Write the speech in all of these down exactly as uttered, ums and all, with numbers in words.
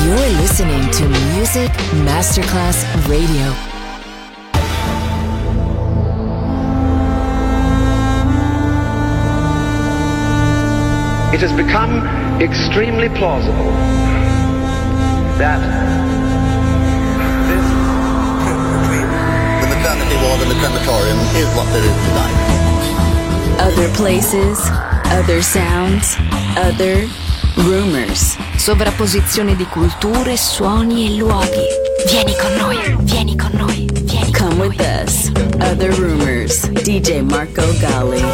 You're listening to Music Masterclass Radio. It has become extremely plausible that this between the maternity ward and the crematorium is what there is tonight. Other places, other sounds, other rumors. Sovrapposizione di culture, suoni e luoghi. Vieni con noi, vieni con noi, vieni con Come noi. with us. Other rumors. D J Marco Gally.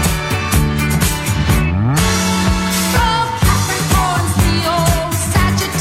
Capricorn, Leo, Sagittarius.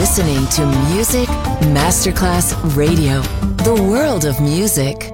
listening to Music Masterclass Radio, the world of music.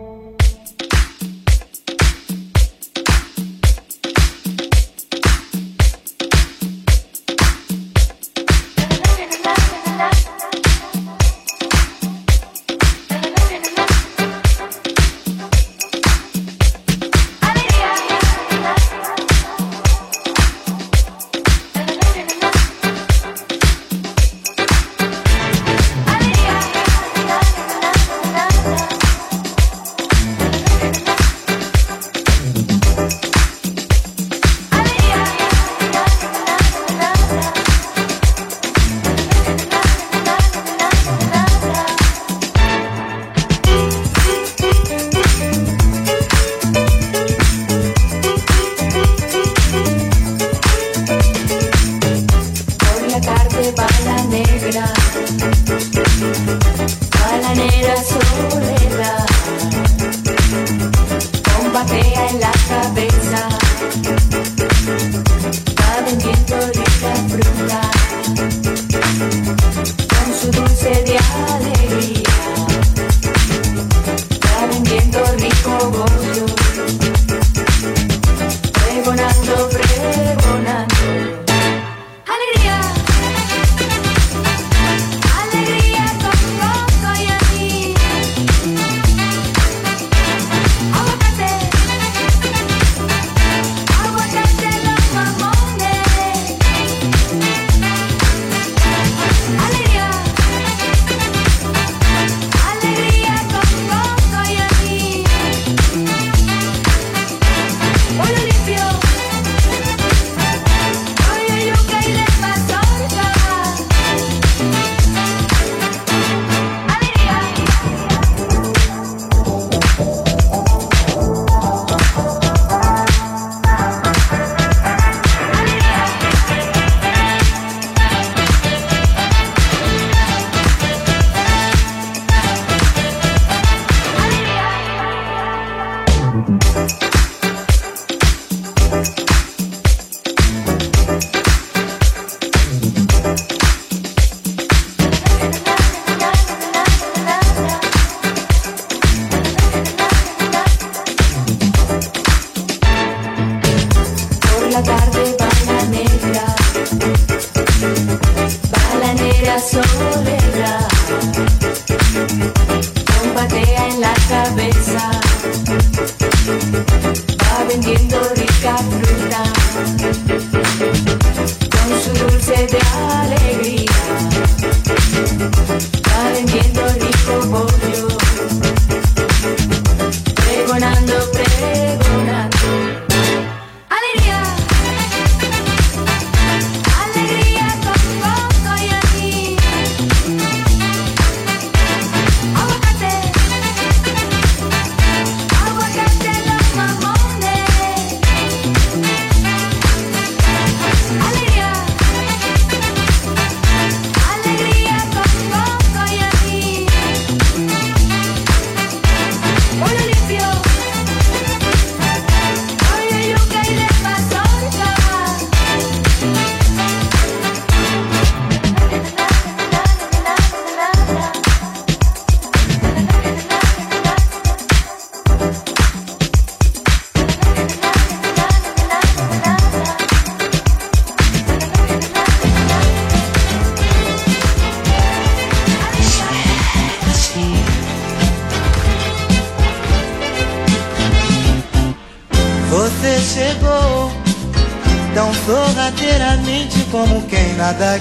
Nada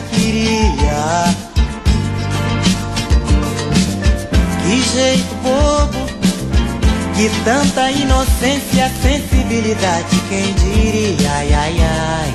queria. Que jeito bobo, que tanta inocência, sensibilidade, quem diria, ai, ai, ai.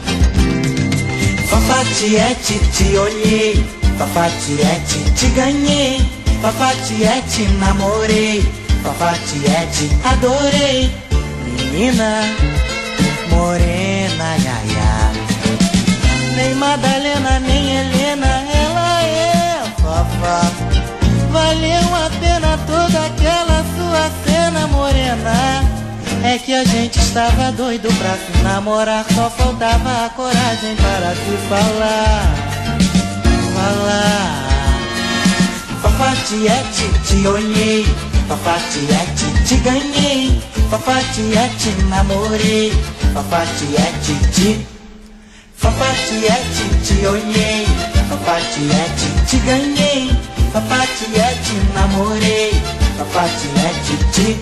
Fafatiete, te olhei, Fafatiete, te ganhei, Fafatiete, namorei, Fafatiete, adorei. Menina morena, ai, ai, ai. Nem Madalena, nem Helena, ela é Fafá. Valeu a pena toda aquela sua cena morena. É que a gente estava doido pra se namorar, só faltava a coragem para se falar. falar. Fafatiete, te olhei, Fafatiete, te ganhei, Fafatiete, namorei, Fafatiete, te Fafatiete, te olhei, Fafatiete, te ganhei, Fafatiete, namorei, Fafatiete, te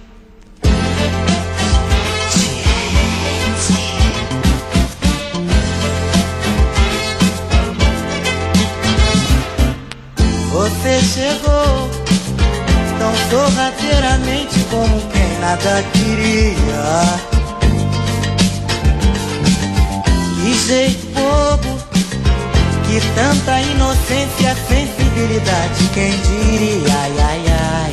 Você chegou tão sorrateiramente como quem nada queria. Que jeito bobo, que tanta inocência, sensibilidade, quem diria, ai, ai, ai.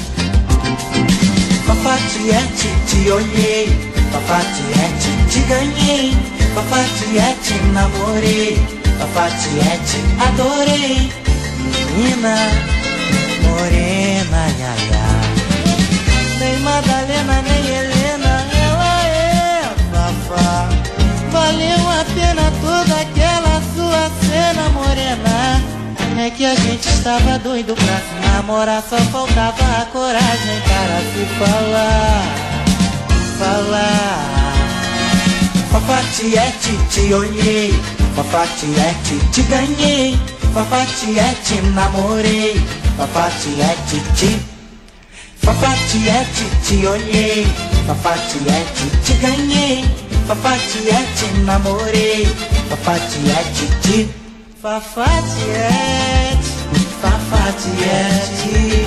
Fafatiete, te olhei, Fafatiete, te ganhei, Fafatiete, namorei, Fafatiete, adorei. Menina morena, ai, ai, ai. Nem Madalena, nem Helena, ela é Fafá. Valeu a pena toda aquela sua cena morena. É que a gente estava doido pra se namorar, só faltava a coragem para se falar, falar. Fafatiete, te olhei, Fafatiete, te ganhei, Fafatiete, namorei, Fafatiete, te Fafatiete, te olhei, Fafatiete, te ganhei, Fafatiete, namorei, Fafatiete, te Fafatiete, Fafatiete,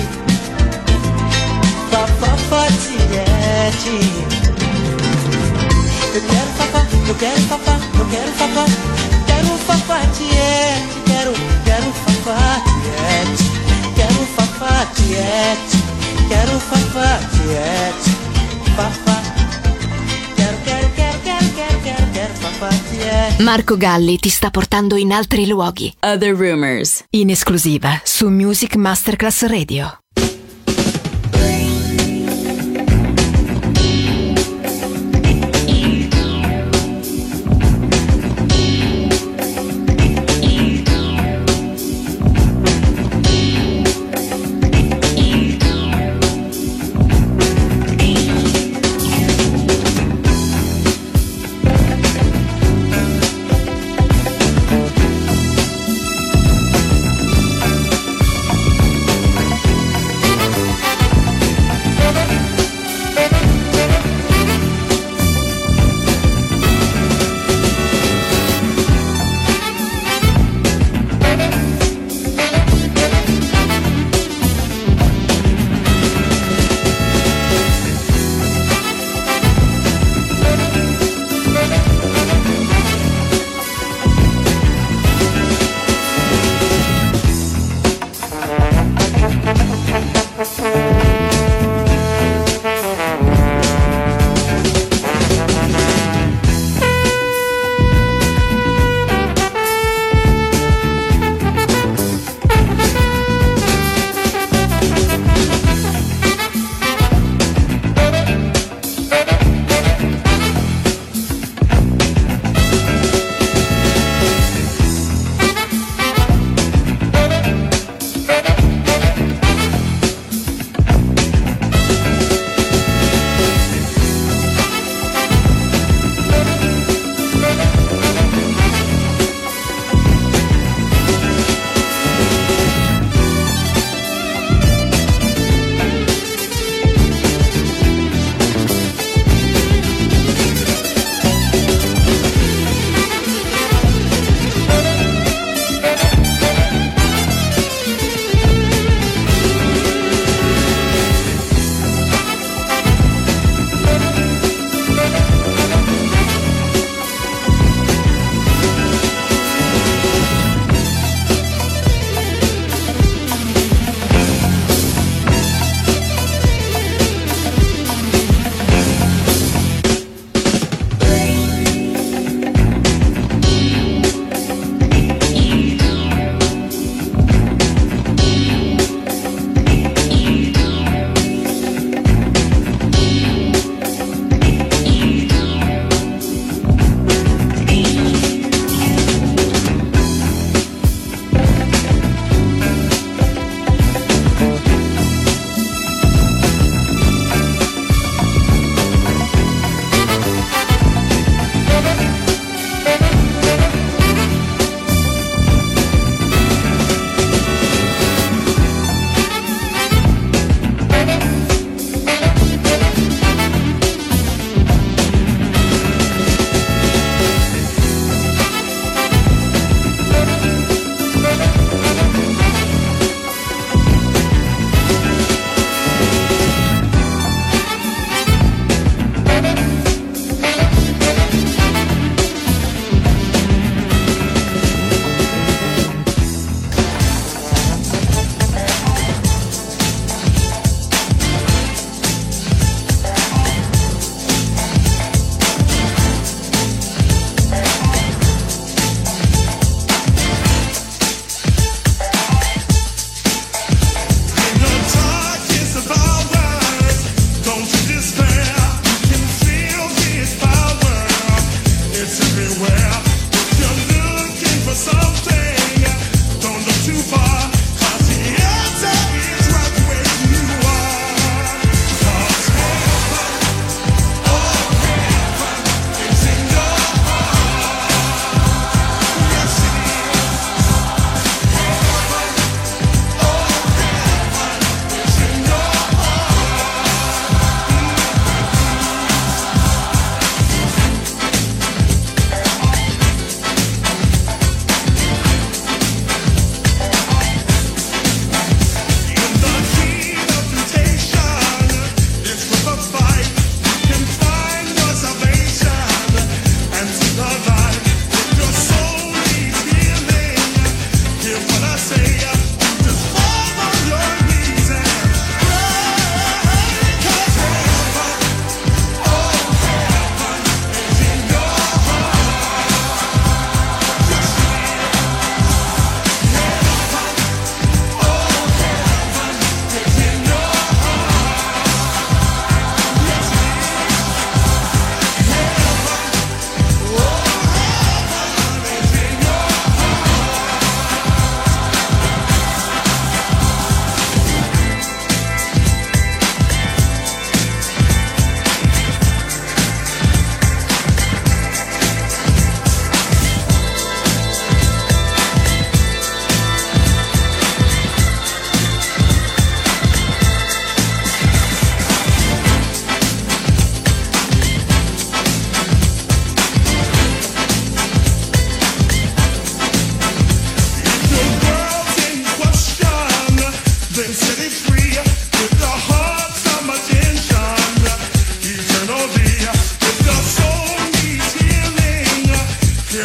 Fafatiete. Eu quero fafá, eu quero fafá, eu quero fafá, quero Fafatiete, quero, quero Fafatiete, quero Fafatiete, quero Fafatiete, fafá, quero, quero, quero, quero, quero, quero, quero Fafatiete. Marco Galli ti sta portando in altri luoghi. Other Rumors, In esclusiva su Music Masterclass Radio.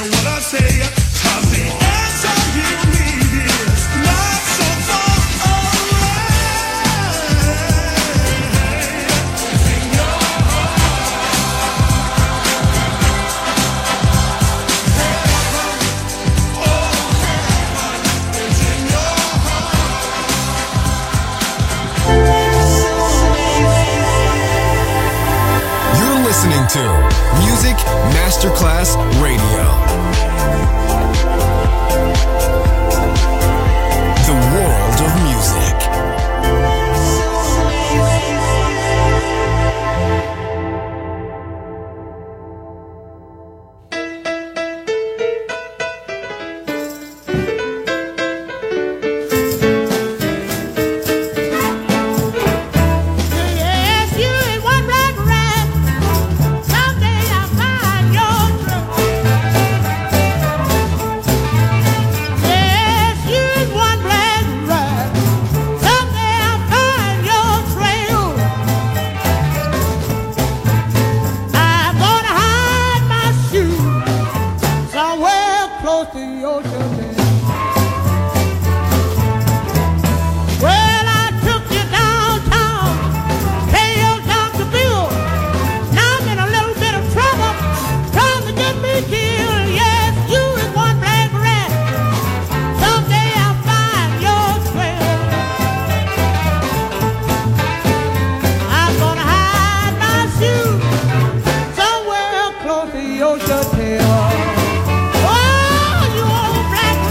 Masterclass Radio. The world of music. Oh, you old black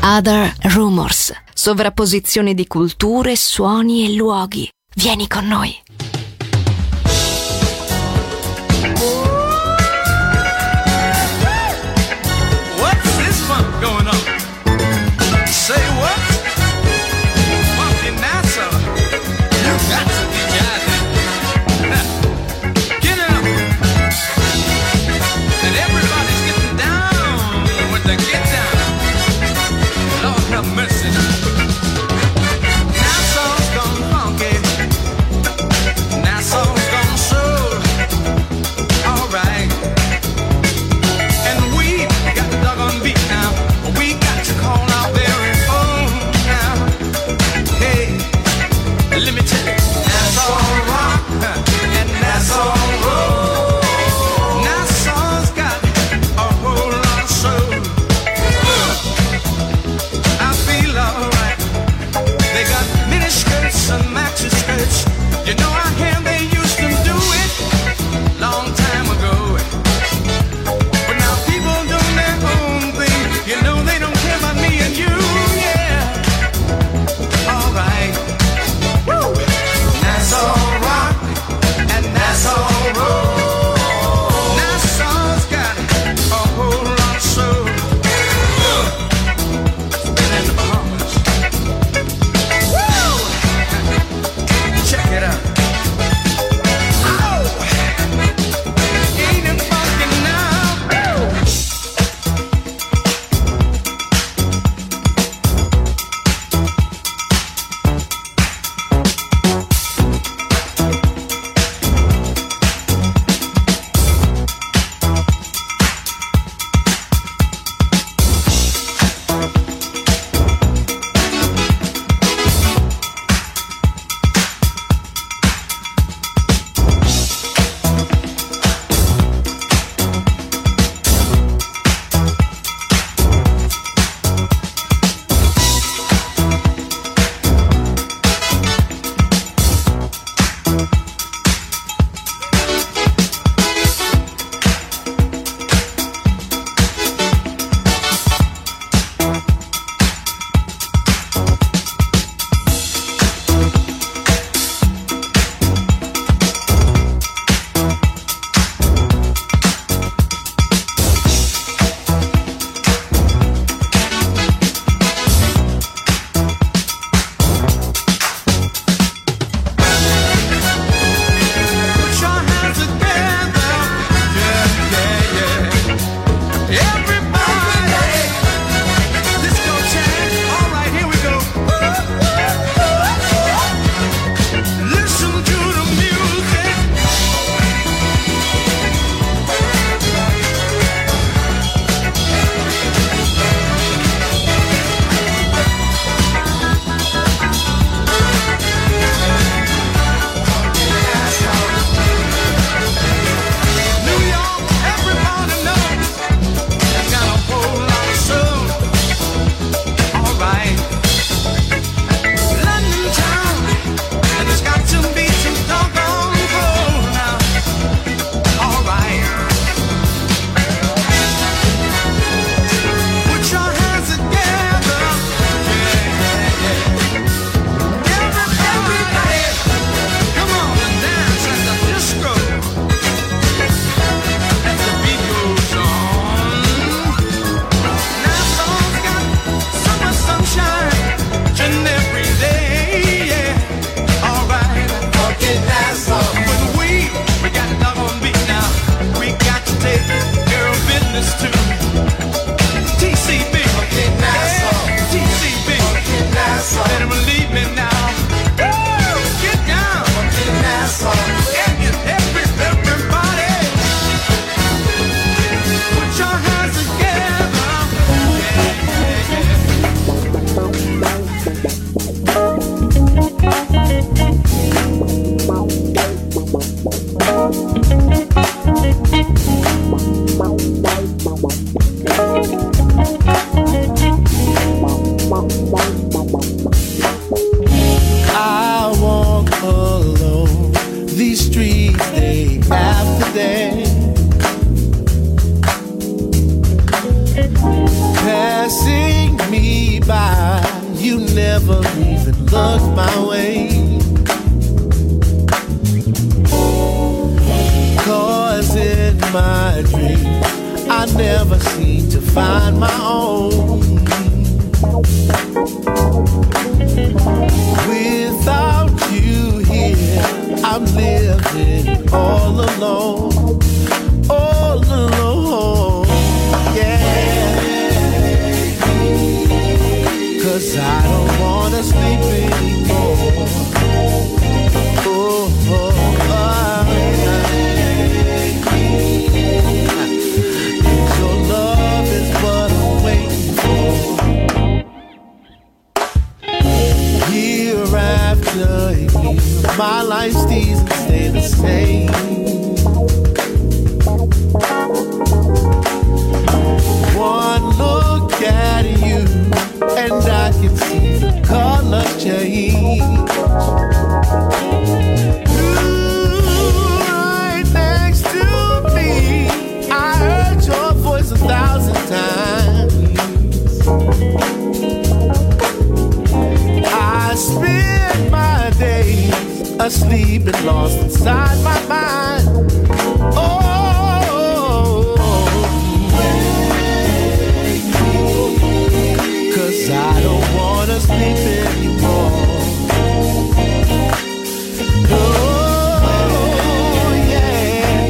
Other Rumors, sovrapposizione di culture, suoni e luoghi. Vieni con noi. What's this funk going on? Say what? Funky NASA. You got to be jiving. Get up. And everybody's getting down with the get down. Lord have mercy. Nassau's gone funky. in my dreams, I never seem to find my own. Without you here, I'm living all alone, all alone, yeah. 'Cause I don't wanna sleep anymore. Oh, oh, oh. Your love is what I'm waiting for. Year after year, my life stays and stay the same. One look at you, and I can see the color change. Ooh, right next to me, I heard your voice a thousand times. I spend my days asleep and lost inside my mind. Oh, I don't wanna sleep anymore. Oh, yeah.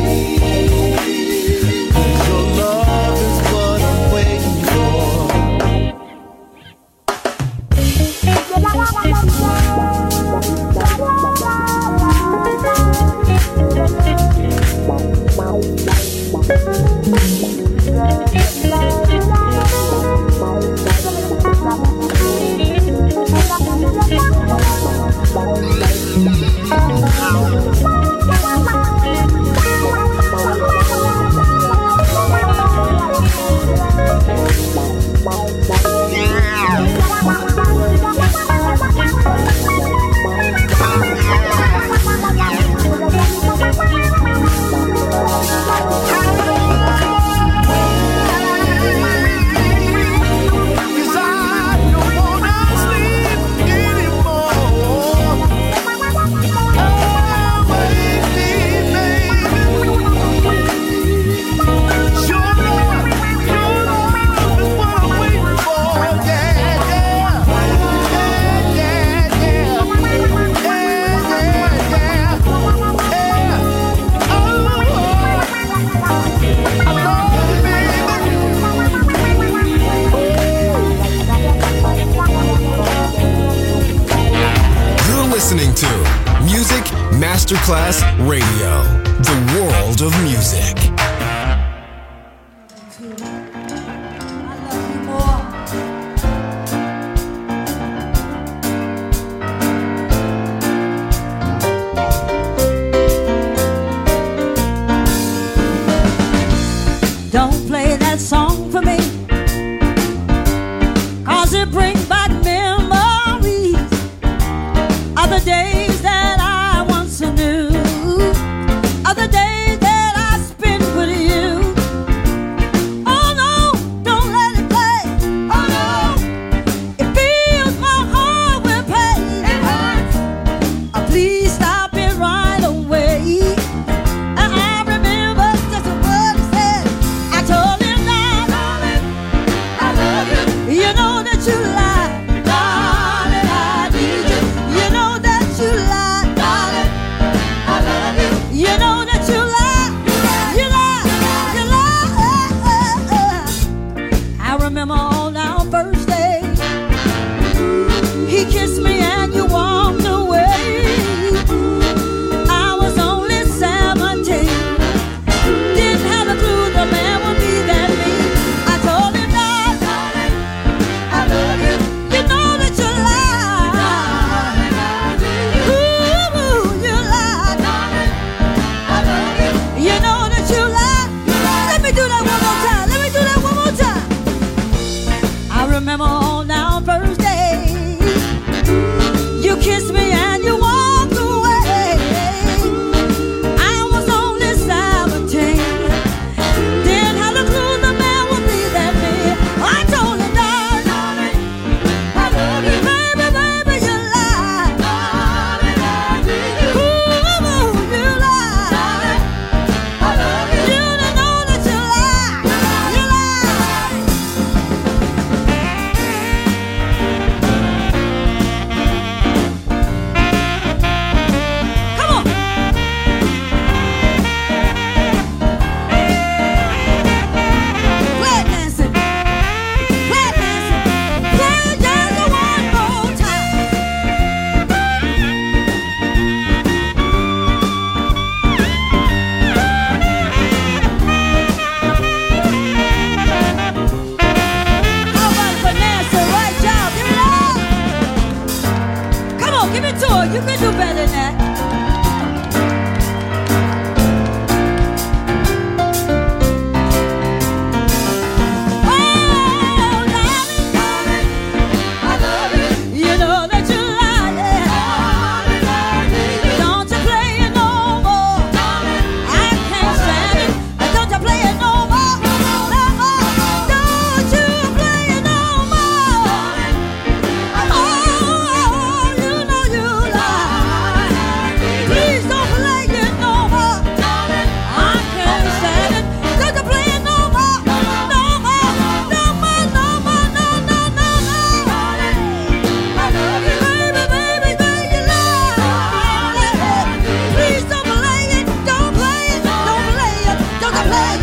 'Cause your love is what I'm waiting for. Masterclass Radio, the world of music. Don't play that song for me, 'cause it brings back memories of the days that I once knew, of the days that I spent with you. Oh no, don't let it play. Oh no, it fills my heart with pain. It hurts. Oh, please stop it right away. I remember just what he said. I told him that,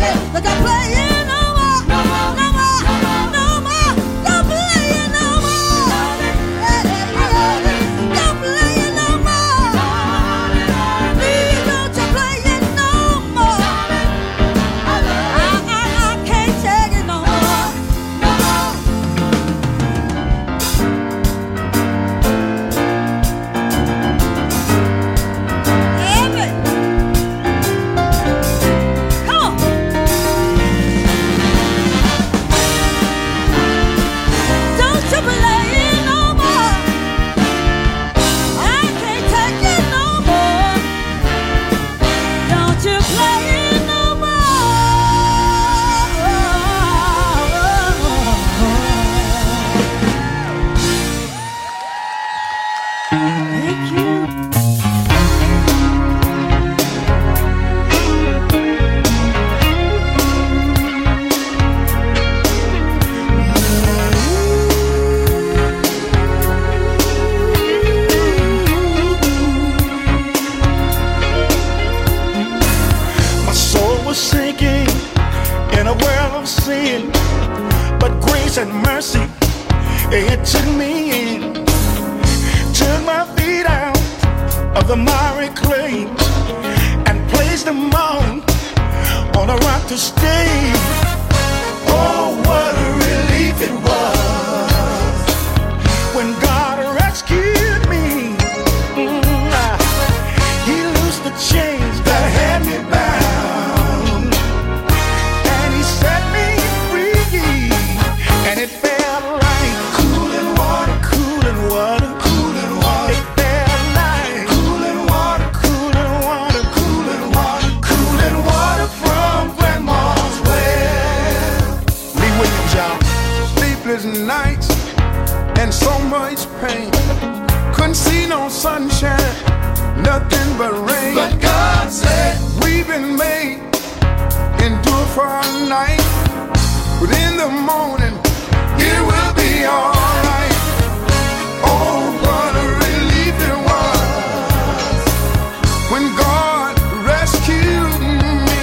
and mercy, it took me in, took my feet out of the miry clay and placed them on, on a rock to stay. Oh, what a relief it was when God rescued me. Mm, he loosed the chains that had me bound, and he set me free, and it felt like cooling water, cooling water, cooling water. It felt like cooling water, cooling water, cooling water, cooling water from Grandma's well. Lee Williams, y'all. Sleepless nights and so much pain. Couldn't see no sunshine, nothing but rain. But God said, we've been made, endure for a night, but in the morning it will be alright. Oh, what a relief it was when God rescued me.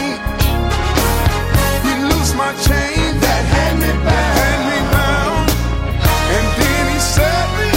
He loosed my chains that had me bound, had me bound, and then he set me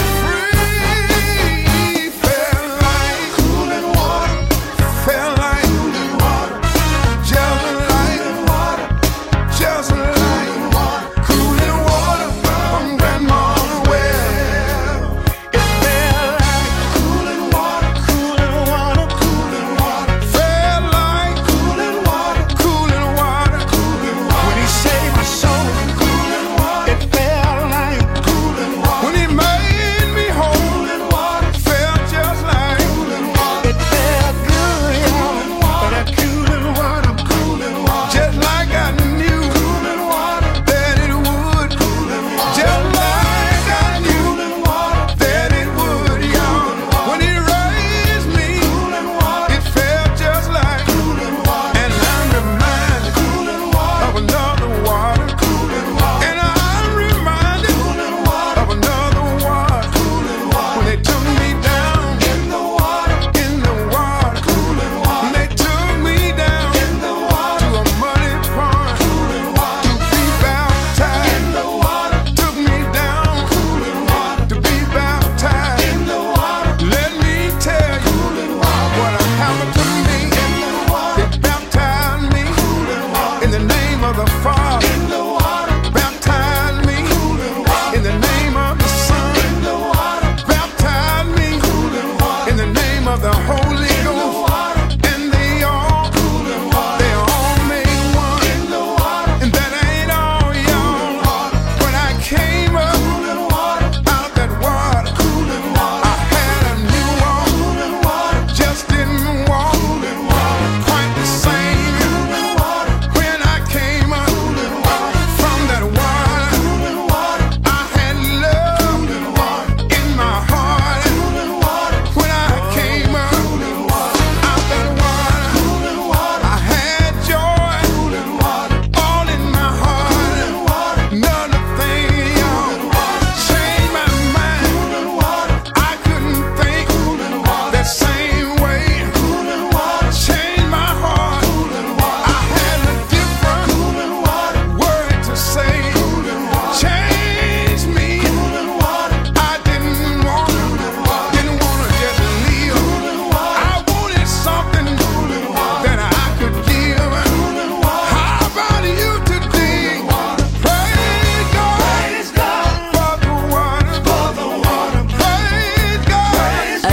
free. Felt like cooling water, felt like cooling water, just like water, just like water, cooling water from Grandma's well. It felt like cooling water, cooling water, cooling water, felt like cooling water, cooling water, cooling water. When he saved my soul, cooling water. It felt like cooling water. When he made me whole, cooling water. Felt just like cooling water. It felt good, y'all. But that cooling water, cooling water, just like I knew cooling water that it would, cooling water, just like I knew cooling water that it would, y'all. When he raised me, cooling water, it felt just like cooling water. And I'm reminded cooling water of another water, cooling water. And I'm reminded cooling water of another water, cooling water. When they took me down in the water, in the water, cooling water. When they took me down in the water to a muddy pond, cooling water, to be baptized in the water. Took me down, cooling water, to be baptized in the water. Let me tell you cooling water what happened to me in the water. They baptized me cooling water in the name of the Father in the water. Baptized me cooling water in the name of the Son in the water. Baptized me cooling water in the name of the Holy Ghost. And they all cooling water, they all made one in the water. And that ain't all, y'all. When I came up cooling water out that water, cooling water, I had a new walk, cooling water, just didn't walk cooling water quite the same. Cooling water when I came up, cooling water,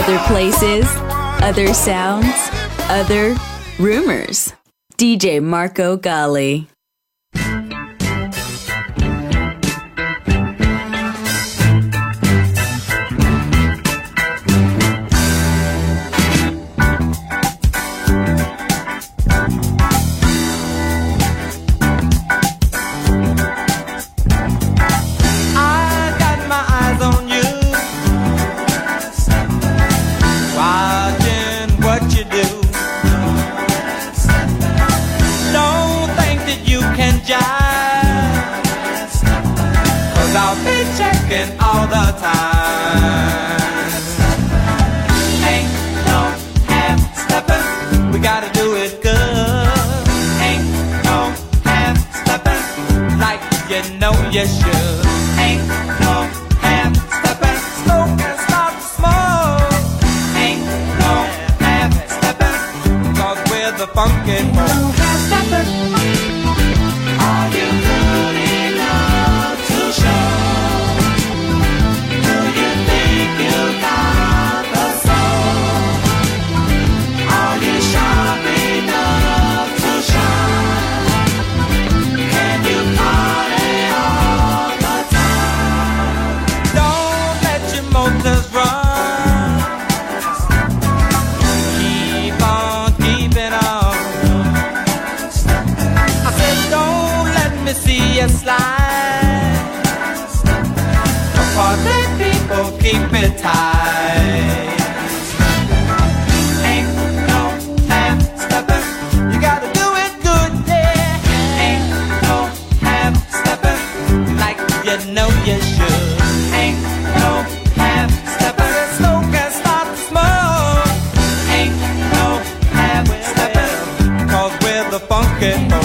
Other places, other sounds, other rumors. D J Marco Gally. All the time. Ain't no half stepping. We gotta do it good. Ain't no half stepping like you know you should. Ain't no half stepping. Smoke and start to smoke. Ain't no half stepping. Cause we're the funky folk. No half stepping. Are you good enough to show? Slide. Party people keep it tight. Ain't no half stepping. You gotta do it good, yeah. Ain't no half stepping like you know you should. Ain't no half stepping. Smoke and start to smoke. Ain't no half stepping. Cause we're the funky folk.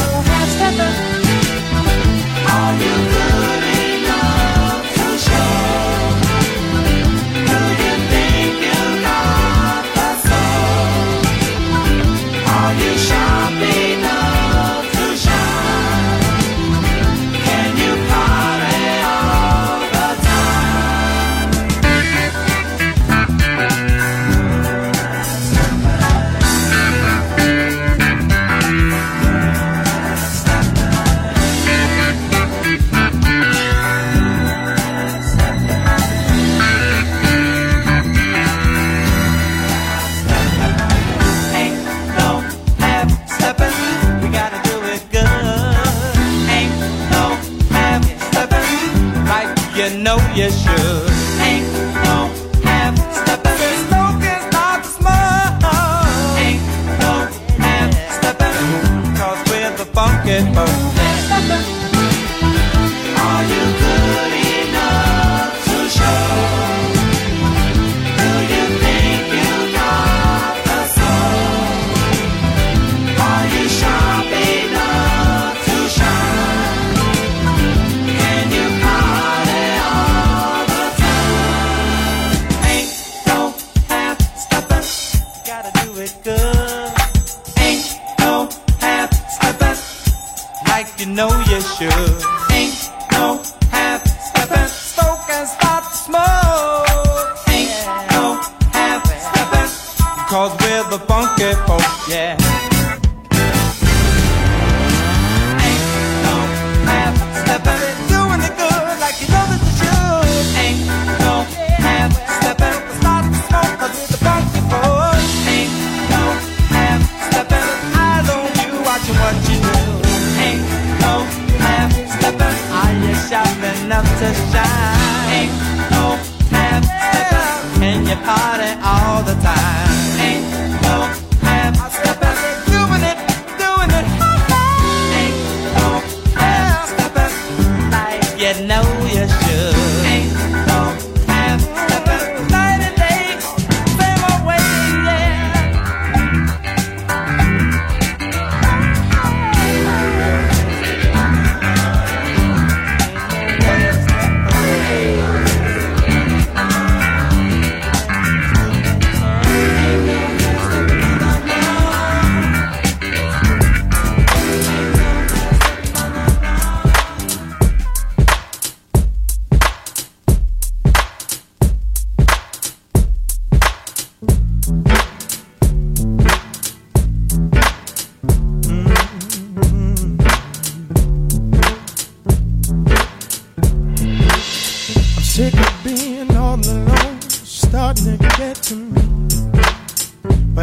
You should. Ain't no half stepping. Smoke and start to smoke. Ain't no half stepping. Cause we're the funky folk. Are you good enough to show? Do you think you got the soul? Are you sharp enough to shine? Can you party on? Good. Ain't no half stepping like you know you should. Ain't no half stepping. Smoke and start to smoke. Ain't no half stepping. Cause we're the funky folk, yeah. Ain't no half stepping. Doing it good like you know that you should. Ain't no half stepping. Start to smoke cause we're the funky folk. What you do, ain't no half stepping. Are you sharp enough to shine? Ain't no half stepping. Can you party all the time? Ain't no half stepping. Doing it, doing it. Ain't no half stepping like you know you should. Ain't no half stepping. Night and day, same old way, yeah.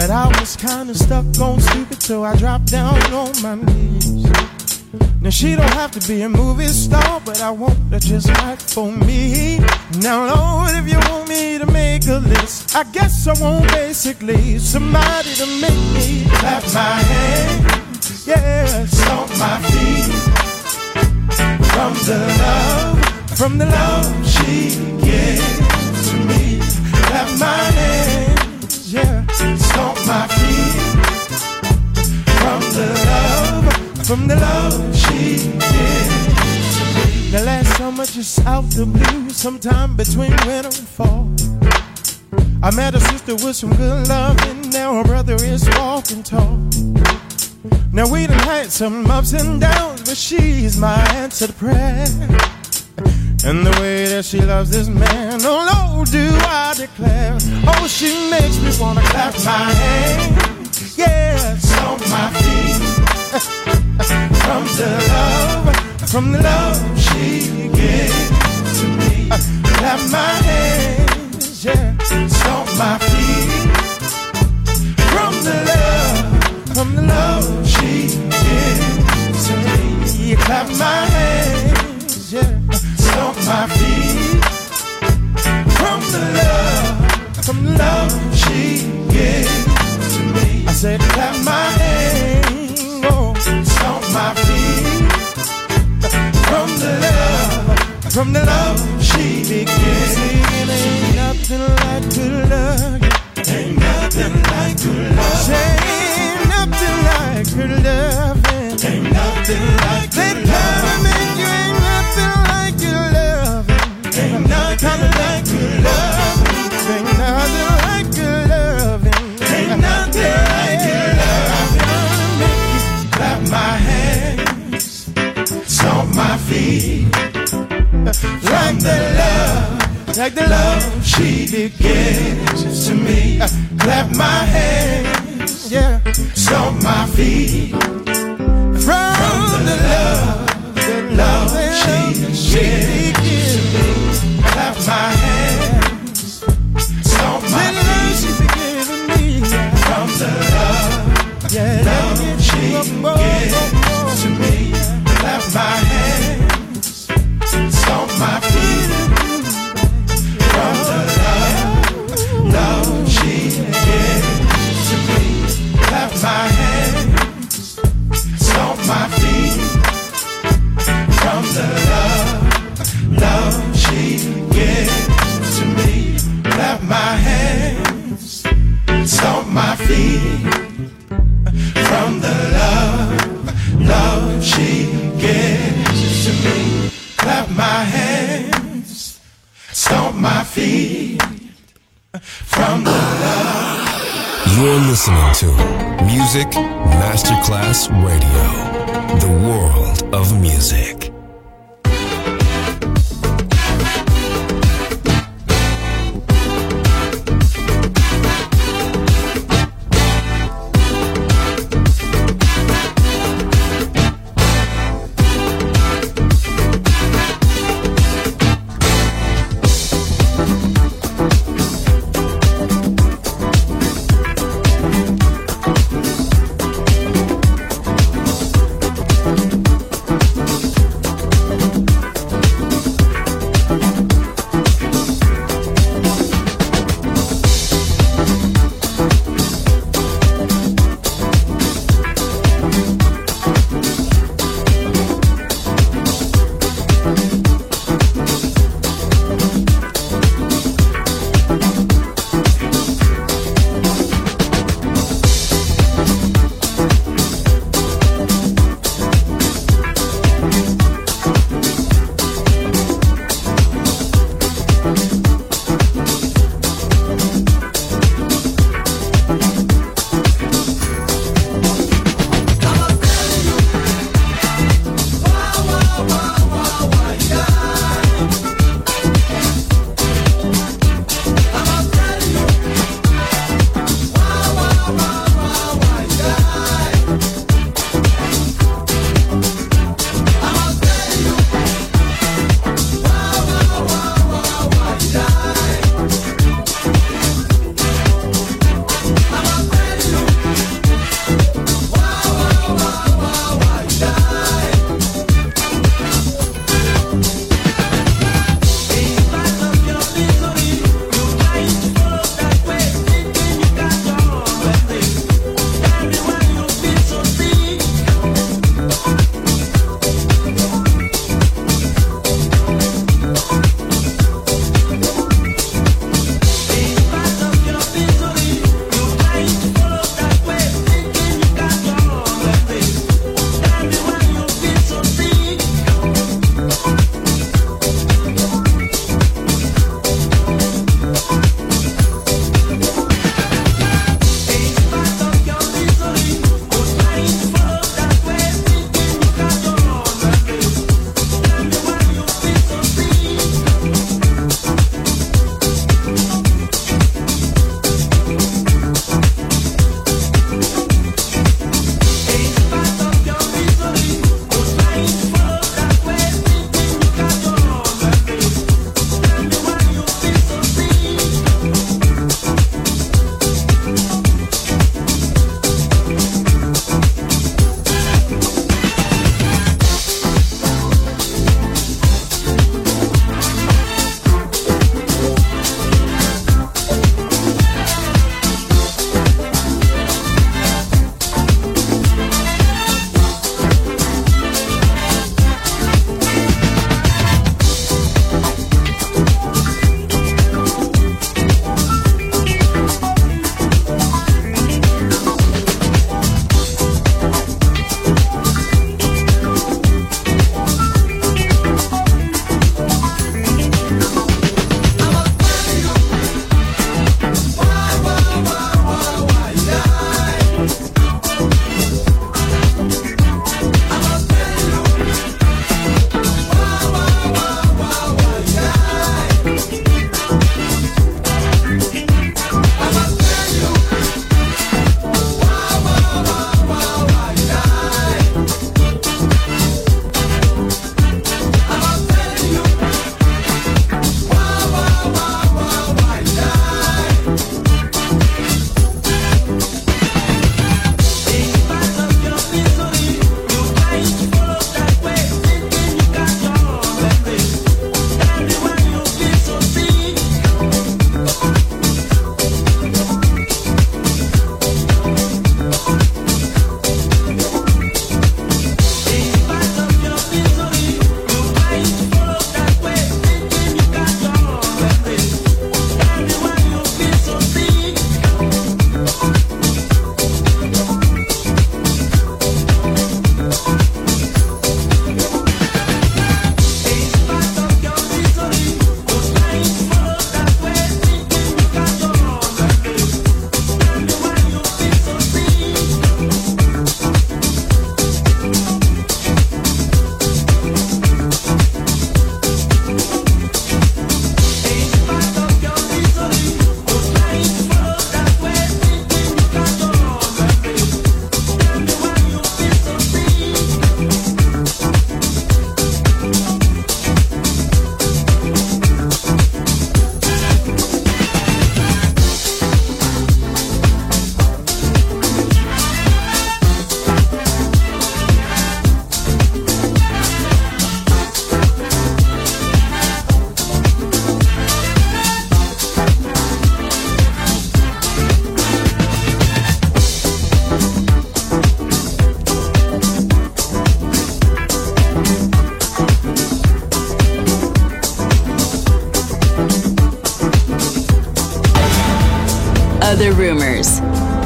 But I was kinda stuck on stupid, so I dropped down on my knees. Now she don't have to be a movie star, but I want her just right for me. Now Lord, if you want me to make a list, I guess I want basically somebody to make me clap my hands, yeah, stomp my feet. From the love, from the love she gives to me. Clap my hands, yeah, stomp my feet. From the love, from the love she gives to me. Now last summer, just out the blue, sometime between winter and fall, I met a sister with some good love, and now her brother is walking tall. Now we done had some ups and downs, but she's my answer to prayer. And the way that she loves this man, oh Lord, do I declare. Oh, she makes me wanna clap my hands, yeah, stomp my feet. From the love, from the love she gives to me. Clap my hands, yeah, stomp my feet. From the love, from the love she gives to me. Clap my hands, yeah, stomp my feet. From the love, from the love she gives to me. I said clap my hands, oh, stomp my feet. From the love, from the love she begins. Ain't nothing like good love. Ain't nothing like good love. Ain't nothing like good love. Ain't nothing like good love. Make you ain't nothing like good love. Ain't nothing like good love. Ain't nothing like good love. Ain't nothing like good love. Make you clap my hands, stomp my feet. Like the love, like the love she gives to me. Clap my hands, yeah, stomp my feet. From the love, the love she gives to me. Clap my hands, stomp my feet. From the love, yeah, love she gives to me. Clap my hands, stomp my feet. From the love, love she gives to me. Clap my hands, stomp my feet. From the love, love she gives to me. Clap my hands, stomp my feet. From the love, love she gives to me. Clap my hands, stomp my feet. From the love. You're listening to Music Masterclass Radio, the world of music.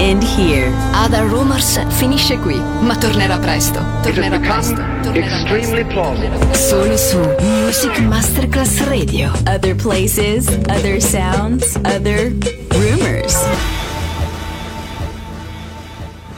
end here. Other Rumors finisce qui, ma tornerà presto. Tornerà presto. Tornerà extremely plausible. Solo su Music Masterclass Radio. Other places, other sounds, other rumors.